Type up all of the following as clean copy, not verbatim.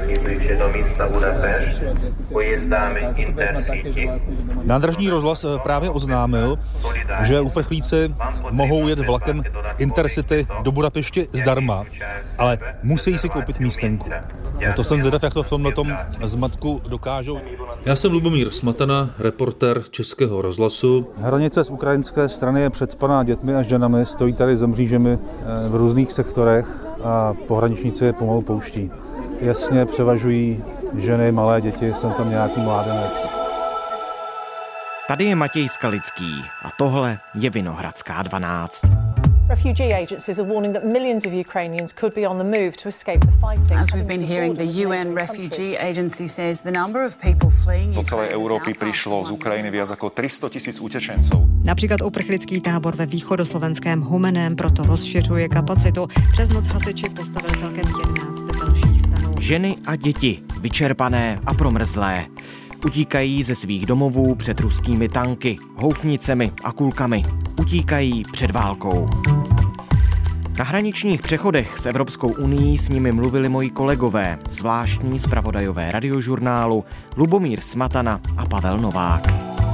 Slídujte do místa Budapešť pojezdami Intercity. Nádražní rozhlas právě oznámil, že uprchlíci mohou jet vlakem Intercity do Budapešti zdarma, ale musí si koupit místenku. To jsem zvědav, jak to v tomhletom zmatku dokážou. Já jsem Lubomír Smatana, reportér Českého rozhlasu. Hranice z ukrajinské strany je přecpaná dětmi a ženami, stojí tady za mřížemi v různých sektorech a pohraničníci je pomalu pouští. Jasně převažují ženy, malé děti, jsem tam nějaký mládenec. Tady je Matěj Skalický a tohle je Vinohradská 12. Refugee agencies are warning that millions of Ukrainians could be on the move to escape the fighting. As we've been hearing, the UN Refugee Agency says the number of people fleeing do celej Európy prišlo z Ukrajiny viac ako 300 000 utečencov. Například uprchlický tábor ve východoslovenském Humeném proto rozšiřuje kapacitu. Přes noc hasiči postavili celkem 11 dalších stanů. Ženy a děti, vyčerpané a promrzlé, utíkají ze svých domovů před ruskými tanky, houfnicemi a kulkami. Utíkají před válkou. Na hraničních přechodech s Evropskou unií s nimi mluvili moji kolegové, zvláštní zpravodajové radiožurnálu Lubomír Smatana a Pavel Novák.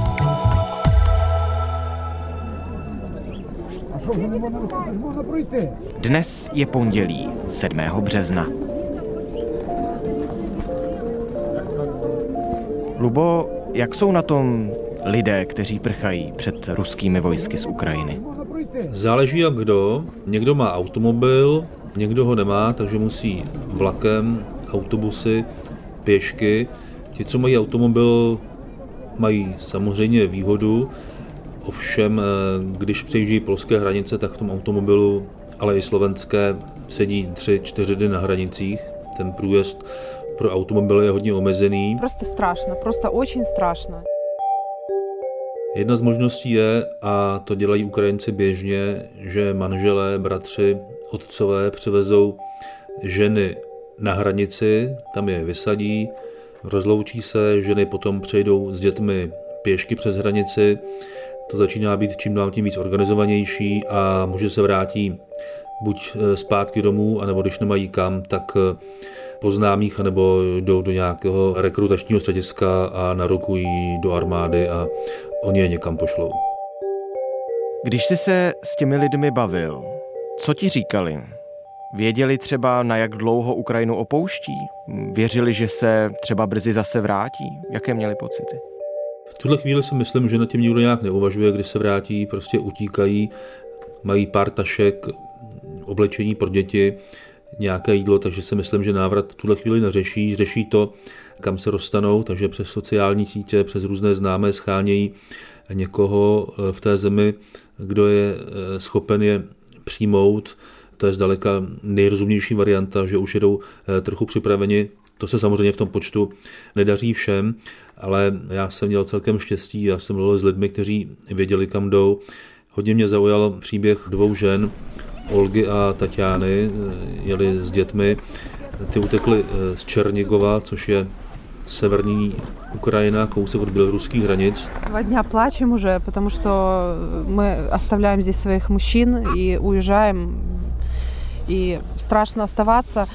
Dnes je pondělí, 7. března. Lubo, jak jsou na tom lidé, kteří prchají před ruskými vojsky z Ukrajiny? Záleží jak kdo. Někdo má automobil, někdo ho nemá, takže musí vlakem, autobusy, pěšky. Ti, co mají automobil, mají samozřejmě výhodu. Ovšem, když přejíždějí polské hranice, tak v tom automobilu, ale i slovenské, sedí 3-4 dny na hranicích. Ten průjezd pro automobily je hodně omezený. Prostě strašno, prostě очень strašno. Jedna z možností je, a to dělají Ukrajinci běžně, že manželé, bratři, otcové přivezou ženy na hranici, tam je vysadí, rozloučí se, ženy potom přejdou s dětmi pěšky přes hranici. To začíná být čím dál tím víc organizovanější a muži se vrátí buď zpátky domů, anebo když nemají kam, tak po známých, anebo jdou do nějakého rekrutačního střediska a narokují do armády a oni je někam pošlou. Když jsi se s těmi lidmi bavil, co ti říkali? Věděli třeba, na jak dlouho Ukrajinu opouští? Věřili, že se třeba brzy zase vrátí? Jaké měli pocity? V tuhle chvíli si myslím, že nad tím nikdo nějak neuvažuje, když se vrátí, prostě utíkají, mají pár tašek, oblečení pro děti, nějaké jídlo, takže si myslím, že návrat v tuhle chvíli neřeší. Řeší to, kam se dostanou, takže přes sociální sítě, přes různé známé schánějí někoho v té zemi, kdo je schopen je přijmout. To je zdaleka nejrozumnější varianta, že už jedou trochu připraveni. To se samozřejmě v tom počtu nedaří všem, ale já jsem měl celkem štěstí, já jsem mluvil s lidmi, kteří věděli, kam jdou. Hodně mě zaujal příběh 2 žen, Olgy a Tatiany, jeli s dětmi. Ty utekly z Černigova, což je severní Ukrajina, kousek od běloruských hranic. 2 dny plačem уже, потому что мы оставляем здесь своих мужчин и уезжаем. И страшно оставаться.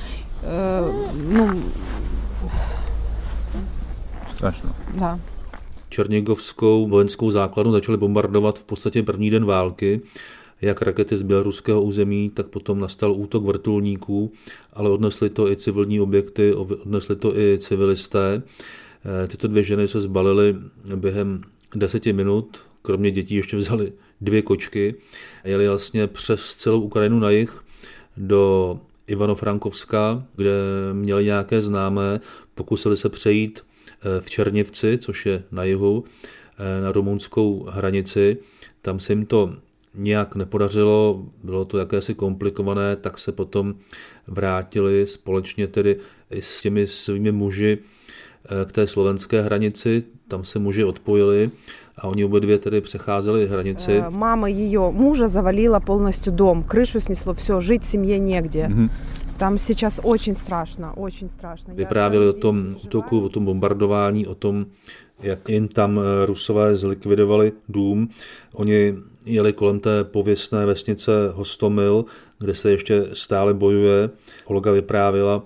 Strašno. Да. Černigovskou vojenskou základnu začali bombardovat v podstatě první den války, jak rakety z běloruského území, tak potom nastal útok vrtulníků, ale odnesli to i civilní objekty, odnesli to i civilisté. Tyto 2 ženy se zbalily během 10 minut, kromě dětí ještě vzali 2 kočky, jeli vlastně přes celou Ukrajinu na jih do Ivano-Frankovska, kde měli nějaké známé, pokusili se přejít v Černivci, což je na jihu, na rumunskou hranici. Tam se jim to nějak nepodařilo, bylo to jakési komplikované, tak se potom vrátili společně tedy i s těmi svými muži k té slovenské hranici. Tam se muži odpojili a oni obě 2 tedy přecházeli hranici. Mama ее мужа завалила полностью дом, крышу снесло, все, жить семье негде. Tam сейчас очень страшно, очень страшно. Vyprávěli o tom útoku, o tom bombardování, o tom, jak jim tam Rusové zlikvidovali dům. Oni jeli kolem té pověstné vesnice Hostomil, kde se ještě stále bojuje. Olga vyprávěla,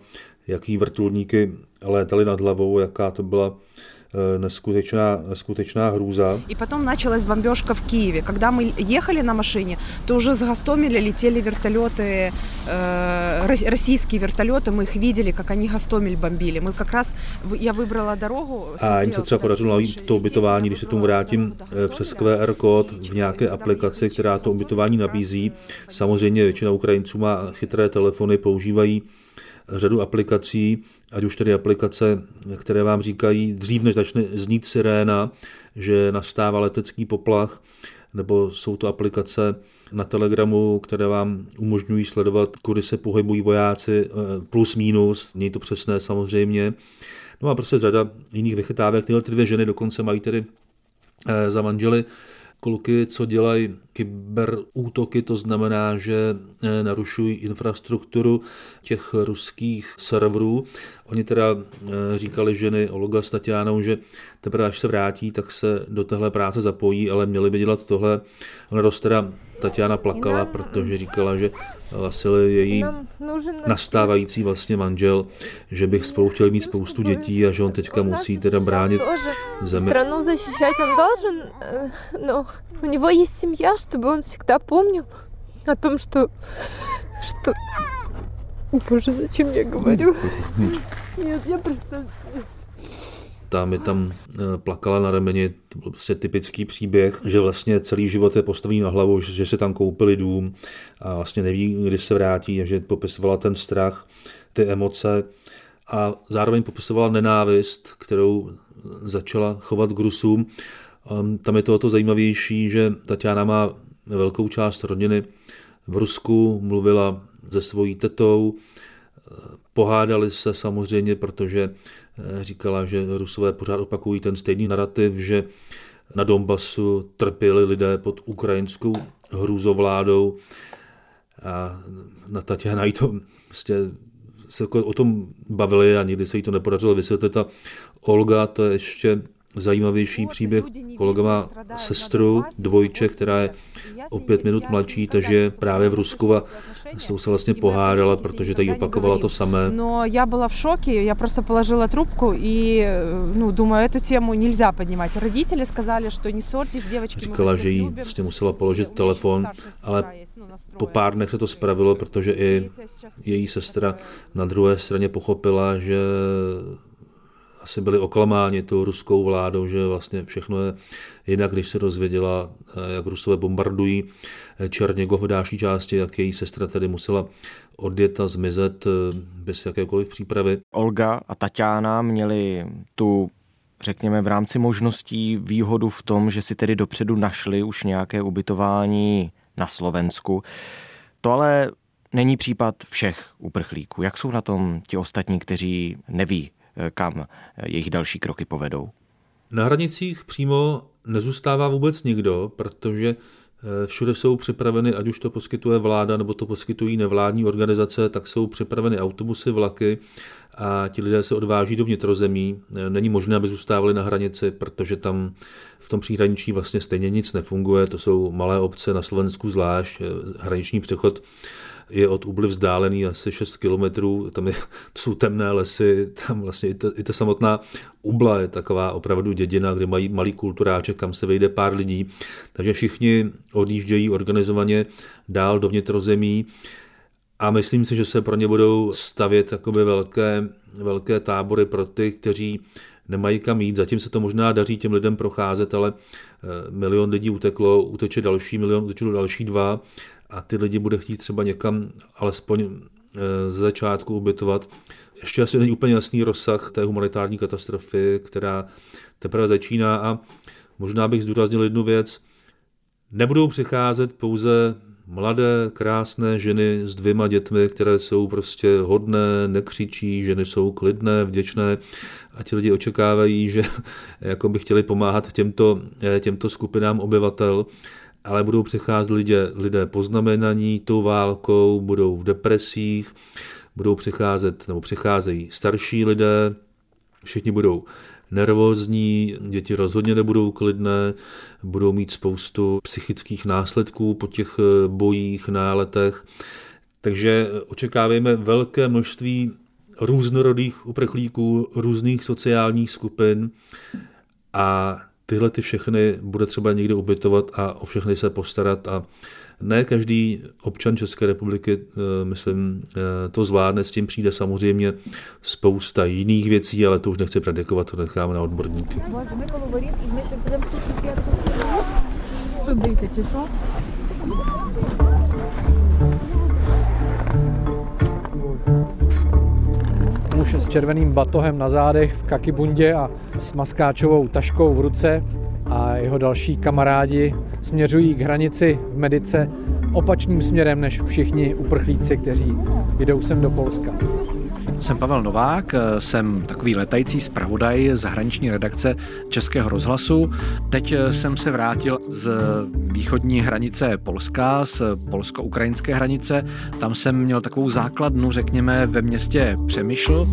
jaký vrtulníky létaly nad hlavou, jaká to byla neskutečná hrůza. И потом началась бомбежка в Киеве. Когда мы ехали на машине, то уже с Гостомеля летели вертолеты, российские вертолеты, мы их видели, как они Гостомель бомбили. Мы как раз, я выбрала дорогу. A jim se třeba podařilo najít to ubytování, když se tomu vrátím, přes QR kód v nějaké aplikaci, která to ubytování nabízí. Samozřejmě většina Ukrajinců má chytré telefony, používají řadu aplikací, ať už tedy aplikace, které vám říkají dřív, než začne znít siréna, že nastává letecký poplach, nebo jsou to aplikace na Telegramu, které vám umožňují sledovat, kudy se pohybují vojáci, plus minus, není to přesné samozřejmě. No a prostě řada jiných vychytávek. Tyhle 2 ženy dokonce mají tedy za manžely kluky, co dělají kyberútoky, to znamená, že narušují infrastrukturu těch ruských serverů. Oni teda říkali ženy Olga s Tatianou, že teprve až se vrátí, tak se do téhle práce zapojí, ale měli by dělat tohle. Ona dost teda Tatiana plakala, protože říkala, že Vasil její nastávající vlastně manžel, že bych spolu chtěli mít spoustu dětí a že on teďka musí teda bránit zemi. Страну защищать он должен, но у него есть семья, чтобы он всегда помнил о том, что... Боже, зачем я говорю? Нет, я просто... Ta mi tam plakala na rameni, to byl prostě typický příběh, že vlastně celý život je postavený na hlavu, že se tam koupili dům a vlastně neví, kdy se vrátí a že popisovala ten strach, ty emoce a zároveň popisovala nenávist, kterou začala chovat k Rusům. Tam je to o to zajímavější, že Tatiana má velkou část rodiny v Rusku, mluvila se svojí tetou, pohádali se samozřejmě, protože říkala, že Rusové pořád opakují ten stejný narrativ, že na Donbasu trpěli lidé pod ukrajinskou hrůzovládou a na Tatiana jí to vlastně se o tom bavili a nikdy se jí to nepodařilo vysvětlit. A Olga, to je ještě zajímavější příběh. Kolega má sestru, dvojče, která je o 5 minut mladší, takže právě v Rusku a s tou se vlastně pohádala, protože tady opakovala to samé. No, já byla v šoku, já prostě položila trubku и, думаю, эту тему нельзя поднимать. Родители сказали, что не ссорьтесь, девочки, říkala, že jí vlastně musela položit telefon, ale po pár dnech se to spravilo, protože i její sestra na druhé straně pochopila, že asi byli oklamáni tou ruskou vládou, že vlastně všechno je jinak, když se dozvěděla, jak Rusové bombardují Černigov v další části, jak její sestra tedy musela odjet a zmizet bez jakékoliv přípravy. Olga a Tatiana měli tu, řekněme, v rámci možností výhodu v tom, že si tedy dopředu našli už nějaké ubytování na Slovensku. To ale není případ všech uprchlíků. Jak jsou na tom ti ostatní, kteří neví, kam jejich další kroky povedou? Na hranicích přímo nezůstává vůbec nikdo, protože všude jsou připraveny, ať už to poskytuje vláda, nebo to poskytují nevládní organizace, tak jsou připraveny autobusy, vlaky a ti lidé se odváží do vnitrozemí. Není možné, aby zůstávali na hranici, protože tam v tom příhraničí vlastně stejně nic nefunguje. To jsou malé obce, na Slovensku zvlášť. Hraniční přechod je od Ubly vzdálený asi 6 kilometrů, to jsou temné lesy, tam vlastně i ta samotná Ubla je taková opravdu dědina, kde mají malý kulturáček, kam se vejde pár lidí, takže všichni odjíždějí organizovaně dál do vnitrozemí a myslím si, že se pro ně budou stavět takové velké tábory pro ty, kteří nemají kam jít. Zatím se to možná daří těm lidem procházet, ale 1 milion lidí uteče další 1 milion, utečou další 2 a ty lidi bude chtít třeba někam alespoň z začátku ubytovat. Ještě asi není úplně jasný rozsah té humanitární katastrofy, která teprve začíná a možná bych zdůraznil jednu věc. Nebudou přicházet pouze mladé, krásné ženy s 2 dětmi, které jsou prostě hodné, nekřičí, ženy jsou klidné, vděčné a ti lidi očekávají, že jako by chtěli pomáhat těmto skupinám obyvatel, ale budou přicházet lidé poznamenaní tou válkou, budou v depresích, budou přicházet nebo přicházejí starší lidé, všichni budou nervózní, děti rozhodně nebudou klidné, budou mít spoustu psychických následků po těch bojích, náletech. Takže očekávejme velké množství různorodých uprchlíků, různých sociálních skupin a tyhle ty všechny bude třeba někde ubytovat a o všechny se postarat a ne každý občan České republiky, myslím, to zvládne, s tím přijde samozřejmě spousta jiných věcí, ale to už nechci predikovat, to necháme na odborníky. Muž s červeným batohem na zádech v kakibundě a s maskáčovou taškou v ruce a jeho další kamarádi směřují k hranici v Medice opačným směrem než všichni uprchlíci, kteří jdou sem do Polska. Jsem Pavel Novák, jsem takový letající zpravodaj zahraniční redakce Českého rozhlasu. Teď jsem se vrátil z východní hranice Polska, z polsko-ukrajinské hranice. Tam jsem měl takovou základnu, řekněme, ve městě Přemyšl.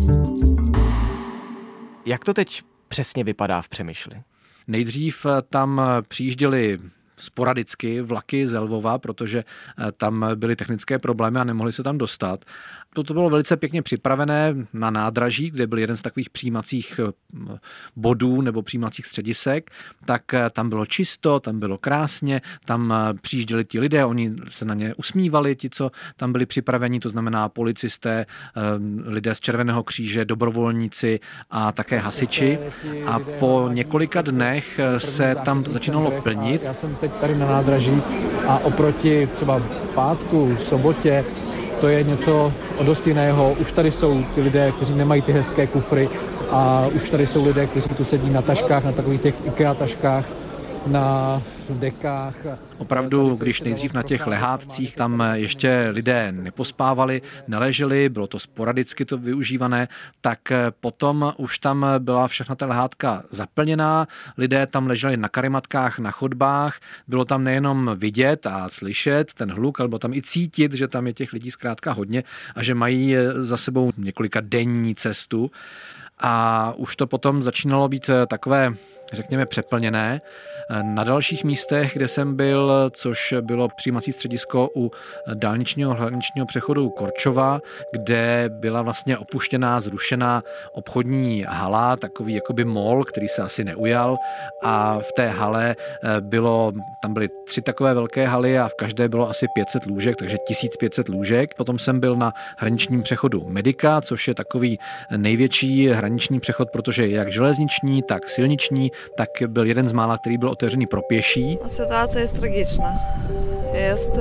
Jak to teď přesně vypadá v Přemyšli? Nejdřív tam přijížděli sporadicky vlaky z Lvova, protože tam byly technické problémy a nemohli se tam dostat. To bylo velice pěkně připravené na nádraží, kde byl jeden z takových přijímacích bodů nebo přijímacích středisek, tak tam bylo čisto, tam bylo krásně, tam přijížděli ti lidé, oni se na ně usmívali, ti, co tam byli připraveni, to znamená policisté, lidé z Červeného kříže, dobrovolníci a také hasiči. A po několika dnech se tam začínalo plnit. Já jsem teď tady na nádraží a oproti třeba pátku, sobotě, to je něco o dost jiného. Už tady jsou ty lidé, kteří nemají ty hezké kufry a už tady jsou lidé, kteří tu sedí na taškách, na takových těch IKEA taškách, na dekách. Opravdu, když nejdřív na těch lehátcích tam ještě lidé nepospávali, neleželi, bylo to sporadicky to využívané, tak potom už tam byla všechna ta lehátka zaplněná, lidé tam leželi na karimatkách, na chodbách, bylo tam nejenom vidět a slyšet ten hluk, ale bylo tam i cítit, že tam je těch lidí zkrátka hodně a že mají za sebou několika denní cestu. A už to potom začínalo být takové, řekněme, přeplněné. Na dalších místech, kde jsem byl, což bylo přijímací středisko u dálničního hraničního přechodu Korčova, kde byla vlastně opuštěná, zrušená obchodní hala, takový jakoby mall, který se asi neujal a v té hale tam byly 3 takové velké haly a v každé bylo asi 500 lůžek, takže 1500 lůžek. Potom jsem byl na hraničním přechodu Medica, což je takový největší hraniční přechod, protože je jak železniční, tak silniční, tak byl jeden z mála, který byl otevřený pro pěší. Situace je tragiczna. Jest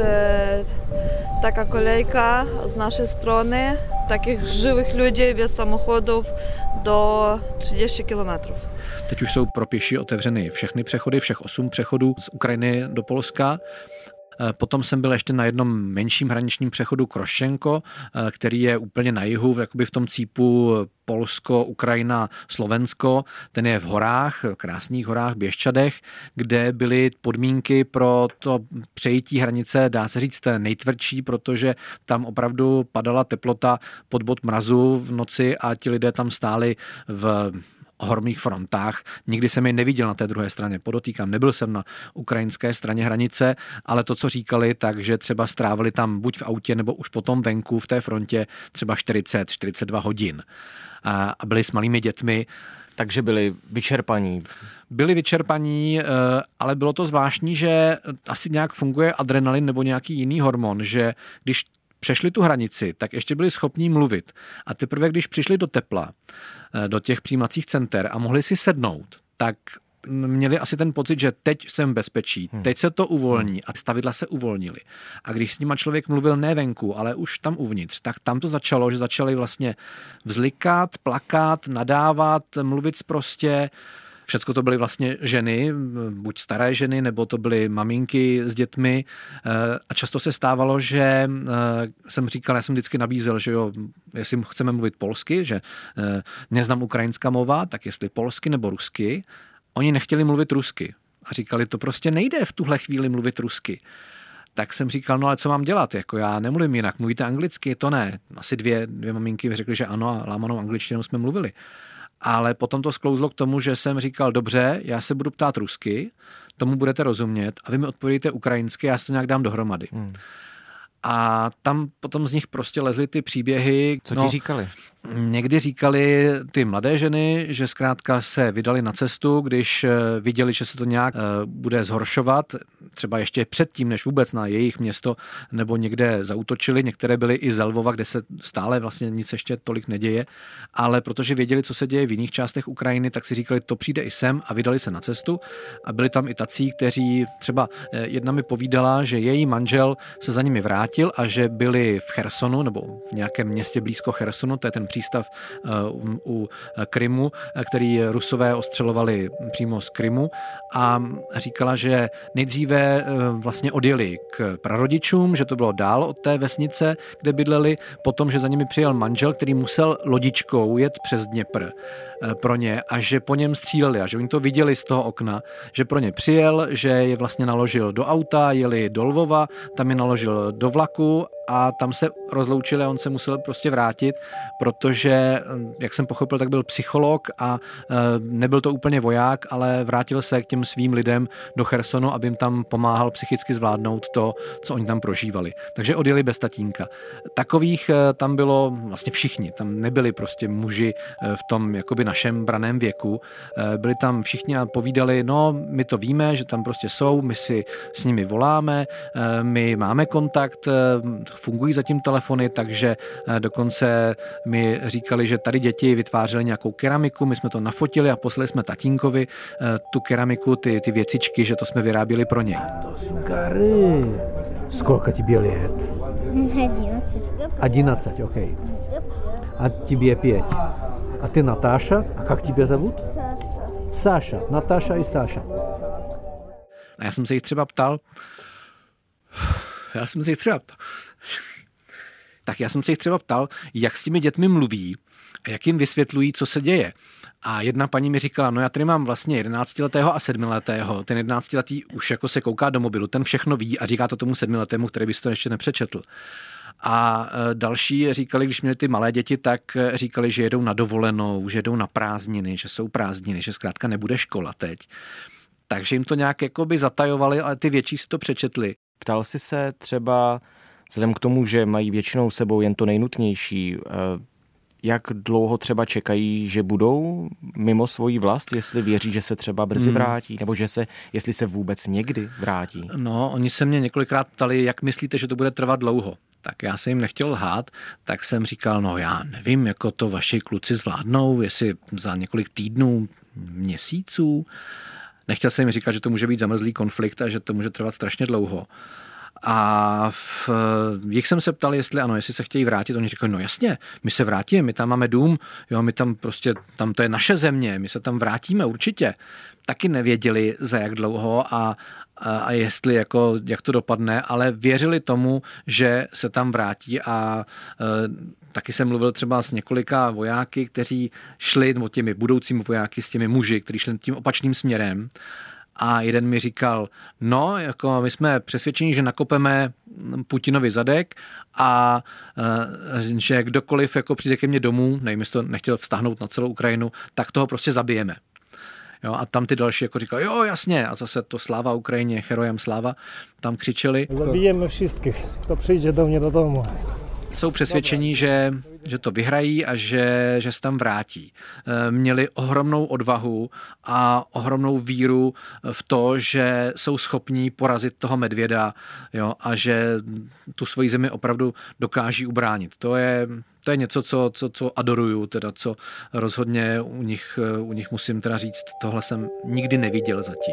taka kolejka z naszej strony, takich żywych ludzi bez samochodów do 30 kilometrů. Teď už jsou pro pěší otevřeny všechny přechody, všech 8 přechodů z Ukrajiny do Polska. Potom jsem byl ještě na jednom menším hraničním přechodu Krošenko, který je úplně na jihu, jakoby v tom cípu Polsko, Ukrajina, Slovensko. Ten je v horách, krásných horách, Běščadech, kde byly podmínky pro to přejítí hranice, dá se říct, nejtvrdší, protože tam opravdu padala teplota pod bod mrazu v noci a ti lidé tam stáli v hormých frontách. Nikdy jsem je neviděl na té druhé straně, podotýkám, nebyl jsem na ukrajinské straně hranice, ale to, co říkali, takže třeba strávili tam buď v autě, nebo už potom venku v té frontě třeba 40-42 hodin. A byli s malými dětmi. Takže byli vyčerpaní. Byli vyčerpaní, ale bylo to zvláštní, že asi nějak funguje adrenalin nebo nějaký jiný hormon, že když přešli tu hranici, tak ještě byli schopní mluvit. A teprve, když přišli do tepla, do těch přijímacích center a mohli si sednout, tak měli asi ten pocit, že teď jsem v bezpečí, teď se to uvolní a stavidla se uvolnily. A když s nima člověk mluvil ne venku, ale už tam uvnitř, tak tam to začalo, že začali vlastně vzlikat, plakat, nadávat, mluvit sprostě. Všecko to byly vlastně ženy, buď staré ženy, nebo to byly maminky s dětmi a často se stávalo, že jsem říkal, já jsem vždycky nabízel, že jo, jestli chceme mluvit polsky, že neznám ukrajinská mova, tak jestli polsky nebo rusky. Oni nechtěli mluvit rusky a říkali, to prostě nejde v tuhle chvíli mluvit rusky. Tak jsem říkal, no ale co mám dělat, jako já nemluvím jinak, mluvíte anglicky, to ne. Asi dvě maminky mi řekly, že ano a lámanou angličtinou jsme mluvili. Ale potom to sklouzlo k tomu, že jsem říkal, dobře, já se budu ptát rusky, tomu budete rozumět a vy mi odpovědíte ukrajinsky, já si to nějak dám dohromady. A tam potom z nich prostě lezly ty příběhy. Co ti říkali? Někdy říkali ty mladé ženy, že zkrátka se vydali na cestu, když viděli, že se to nějak bude zhoršovat, třeba ještě předtím, než vůbec na jejich město nebo někde zaútočili. Některé byly i z Lvova, kde se stále vlastně nic ještě tolik neděje, ale protože věděli, co se děje v jiných částech Ukrajiny, tak si říkali, to přijde i sem a vydali se na cestu. A byli tam i tací, kteří třeba jedna mi povídala, že její manžel se za nimi vrátil a že byli v Chersonu nebo v nějakém městě blízko Chersonu, to je ten přístav u Krymu, který Rusové ostřelovali přímo z Krymu, a říkala, že nejdříve vlastně odjeli k prarodičům, že to bylo dál od té vesnice, kde bydleli, potom, že za nimi přijel manžel, který musel lodičkou jet přes Dněpr pro ně a že po něm stříleli a že oni to viděli z toho okna, že pro ně přijel, že je vlastně naložil do auta, jeli do Lvova, tam je naložil do vlaku a tam se rozloučili a on se musel prostě vrátit, protože, jak jsem pochopil, tak byl psycholog a nebyl to úplně voják, ale vrátil se k těm svým lidem do Chersonu, aby jim tam pomáhal psychicky zvládnout to, co oni tam prožívali. Takže odjeli bez tatínka. Takových tam bylo vlastně všichni. Tam nebyli prostě muži v tom jakoby našem braném věku. Byli tam všichni a povídali, no, my to víme, že tam prostě jsou, my si s nimi voláme, my máme kontakt, fungují zatím telefony, takže dokonce mi říkali, že tady děti vytvářely nějakou keramiku, my jsme to nafotili a poslali jsme tatínkovi tu keramiku, ty věcičky, že to jsme vyráběli pro něj. To jsou gary. Сколько тебе лет? 11, окей. А тебе 5. А ты Наташа? А как тебя зовут? Саша. Наташа и Саша. A já jsem se jich třeba ptal, jak s těmi dětmi mluví a jak jim vysvětlují, co se děje. A jedna paní mi říkala, no já tady mám vlastně 11letého a 7letého. Ten 11letý už jako se kouká do mobilu, ten všechno ví a říká to tomu 7letému, který by si to ještě nepřečetl. A další říkali, když měli ty malé děti, tak říkali, že jedou na dovolenou, že jedou na prázdniny, že jsou prázdniny, že zkrátka nebude škola teď. Takže jim to nějak jakoby zatajovali, ale ty větší si to přečetli. Ptal jsi se třeba, vzhledem k tomu, že mají většinou sebou jen to nejnutnější, jak dlouho třeba čekají, že budou mimo svoji vlast, jestli věří, že se třeba brzy vrátí, nebo jestli se vůbec někdy vrátí? No, oni se mě několikrát ptali, jak myslíte, že to bude trvat dlouho. Tak já jsem jim nechtěl lhát, tak jsem říkal, no já nevím, jako to vaši kluci zvládnou, jestli za několik týdnů, měsíců. Nechtěl jsem jim říkat, že to může být zamrzlý konflikt a že to může trvat strašně dlouho. A jich jsem se ptal, jestli se chtějí vrátit. Oni říkali, no jasně, my se vrátíme, my tam máme dům, jo, my tam prostě, tam to je naše země, my se tam vrátíme určitě. Taky nevěděli, za jak dlouho a jestli jak to dopadne, ale věřili tomu, že se tam vrátí a taky jsem mluvil třeba s několika vojáky, kteří šli, nebo těmi budoucími vojáky, s těmi muži, kteří šli tím opačným směrem. A jeden mi říkal, no, jako my jsme přesvědčeni, že nakopeme Putinovi zadek a že kdokoliv jako přijde ke mně domů, nevím, jestli to nechtěl vztáhnout na celou Ukrajinu, tak toho prostě zabijeme. Jo, a tam ty další jako říkali, jo, jasně, a zase to sláva Ukrajině, herojem sláva, tam křičeli. Zabijeme všech, kdo přijde do mě do domu. Jsou přesvědčení, že to vyhrají a že se tam vrátí. Měli ohromnou odvahu a ohromnou víru v to, že jsou schopní porazit toho medvěda, jo, a že tu svoji zemi opravdu dokáží ubránit. To je něco, co adoruju, teda co rozhodně u nich musím teda říct, tohle jsem nikdy neviděl zatím.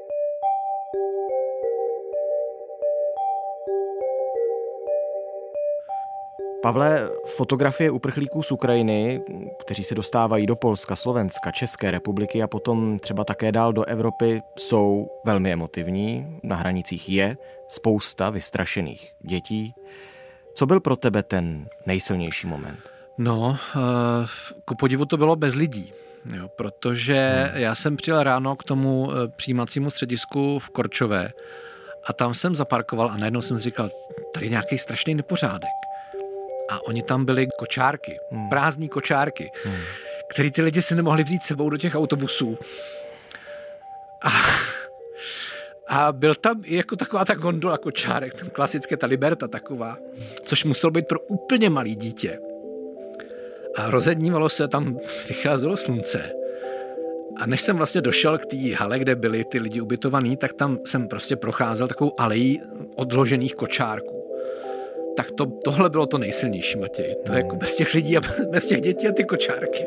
Pavle, fotografie uprchlíků z Ukrajiny, kteří se dostávají do Polska, Slovenska, České republiky a potom třeba také dál do Evropy, jsou velmi emotivní. Na hranicích je spousta vystrašených dětí. Co byl pro tebe ten nejsilnější moment? No, ku podivu to bylo bez lidí. Jo, protože já jsem přijel ráno k tomu přijímacímu středisku v Korčové a tam jsem zaparkoval a najednou jsem si říkal, tady nějaký strašný nepořádek. A oni tam byli kočárky, prázdní kočárky, který ty lidi si nemohli vzít sebou do těch autobusů. A byl tam i jako taková ta gondola kočárek, ten klasické, ta Liberta taková, což muselo být pro úplně malý dítě. A rozednívalo se, tam vycházelo slunce. A než jsem vlastně došel k té hale, kde byli ty lidi ubytovaní, tak tam jsem prostě procházel takovou alejí odložených kočárků. Tak tohle bylo to nejsilnější, Matěj. To je jako bez těch lidí a bez těch dětí a ty kočárky.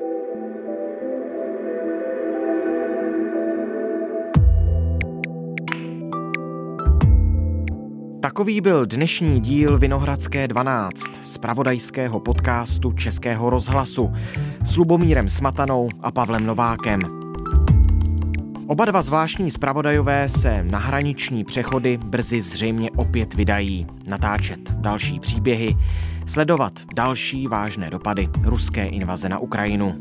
Takový byl dnešní díl Vinohradské 12, zpravodajského podcastu Českého rozhlasu s Lubomírem Smatanou a Pavlem Novákem. Oba dva zvláštní zpravodajové se na hraniční přechody brzy zřejmě opět vydají, natáčet další příběhy, sledovat další vážné dopady ruské invaze na Ukrajinu.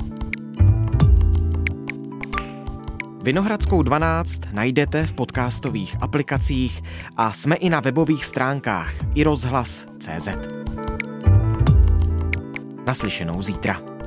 Vinohradskou 12 najdete v podcastových aplikacích a jsme i na webových stránkách iRozhlas.cz. Naslyšenou zítra.